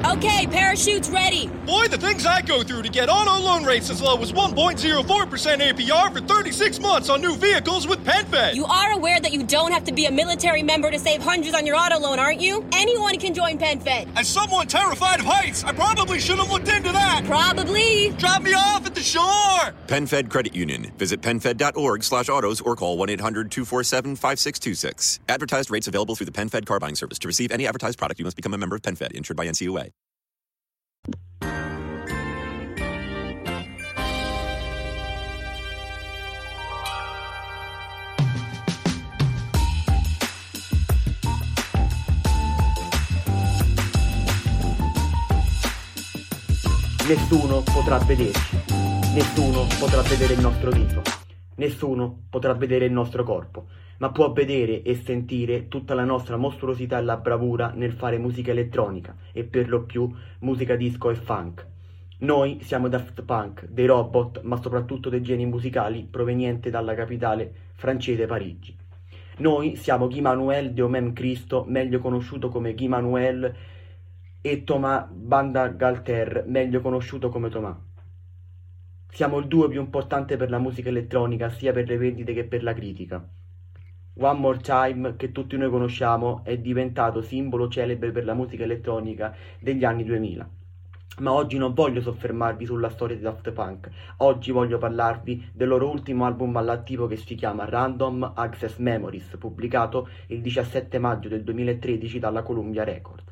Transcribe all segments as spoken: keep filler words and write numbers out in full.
Okay, parachutes ready. Boy, the things I go through to get auto loan rates as low as one point zero four percent A P R for thirty-six months on new vehicles with PenFed. You are aware that you don't have to be a military member to save hundreds on your auto loan, aren't you? Anyone can join PenFed. As someone terrified of heights, I probably should have looked into that. Probably. Drop me off at the shore. PenFed Credit Union. Visit PenFed.org slash autos or call one eight hundred two four seven five six two six. Advertised rates available through the PenFed car buying service. To receive any advertised product, you must become a member of PenFed, insured by N C U A. Nessuno potrà vederci, nessuno potrà vedere il nostro viso, nessuno potrà vedere il nostro corpo, ma può vedere e sentire tutta la nostra mostruosità e la bravura nel fare musica elettronica e per lo più musica disco e funk. Noi siamo Daft Punk, dei robot, ma soprattutto dei geni musicali provenienti dalla capitale francese Parigi. Noi siamo Guy Manuel de Homem Christo, meglio conosciuto come Guy Manuel, e Thomas Bangalter, meglio conosciuto come Thomas. Siamo il duo più importante per la musica elettronica, sia per le vendite che per la critica. One More Time, che tutti noi conosciamo, è diventato simbolo celebre per la musica elettronica degli anni duemila. Ma oggi non voglio soffermarvi sulla storia di Daft Punk, oggi voglio parlarvi del loro ultimo album all'attivo che si chiama Random Access Memories, pubblicato il diciassette maggio del duemilatredici dalla Columbia Records.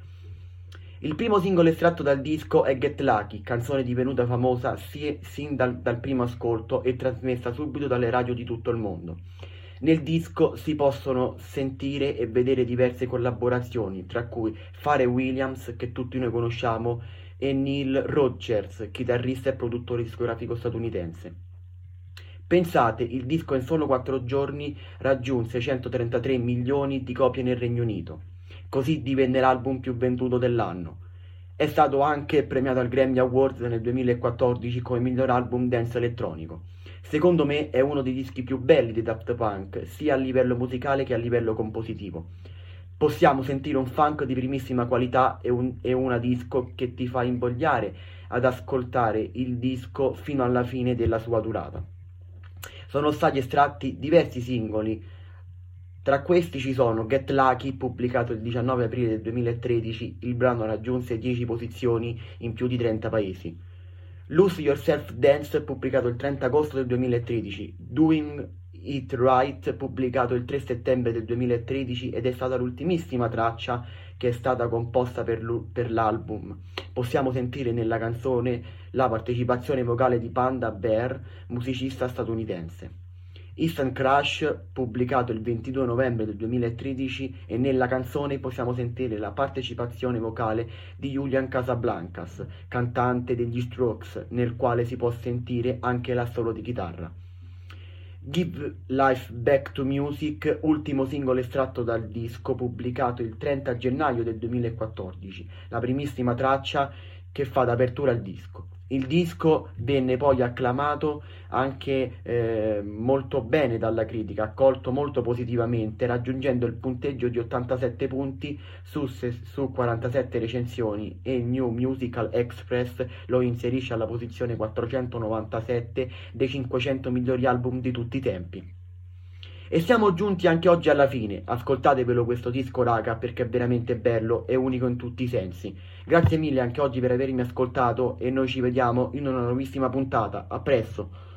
Il primo singolo estratto dal disco è Get Lucky, canzone divenuta famosa si, sin dal, dal primo ascolto e trasmessa subito dalle radio di tutto il mondo. Nel disco si possono sentire e vedere diverse collaborazioni, tra cui Pharrell Williams, che tutti noi conosciamo, e Neil Rogers, chitarrista e produttore discografico statunitense. Pensate, il disco in solo quattro giorni raggiunse centotrentatré milioni di copie nel Regno Unito. Così divenne l'album più venduto dell'anno. È stato anche premiato al Grammy Awards nel duemilaquattordici come miglior album dance elettronico. Secondo me è uno dei dischi più belli di Daft Punk, sia a livello musicale che a livello compositivo. Possiamo sentire un funk di primissima qualità e, un, e una disco che ti fa invogliare ad ascoltare il disco fino alla fine della sua durata. Sono stati estratti diversi singoli. Tra questi ci sono Get Lucky, pubblicato il diciannove aprile del duemilatredici, il brano raggiunse dieci posizioni in più di trenta paesi. Lose Yourself Dance, pubblicato il trenta agosto del duemilatredici. Doing It Right, pubblicato il tre settembre del duemilatredici ed è stata l'ultimissima traccia che è stata composta per, per l'album. Possiamo sentire nella canzone la partecipazione vocale di Panda Bear, musicista statunitense. Instant Crush, pubblicato il ventidue novembre del duemilatredici, e nella canzone possiamo sentire la partecipazione vocale di Julian Casablancas, cantante degli Strokes, nel quale si può sentire anche l'assolo di chitarra. Give Life Back to Music, ultimo singolo estratto dal disco, pubblicato il trenta gennaio del duemilaquattordici, la primissima traccia che fa d'apertura al disco. Il disco venne poi acclamato anche eh, molto bene dalla critica, accolto molto positivamente, raggiungendo il punteggio di ottantasette punti su, su quarantasette recensioni, e New Musical Express lo inserisce alla posizione quattrocentonovantasette dei cinquecento migliori album di tutti i tempi. E siamo giunti anche oggi alla fine. Ascoltatevelo questo disco, raga, perché è veramente bello e unico in tutti i sensi. Grazie mille anche oggi per avermi ascoltato e noi ci vediamo in una nuovissima puntata. A presto!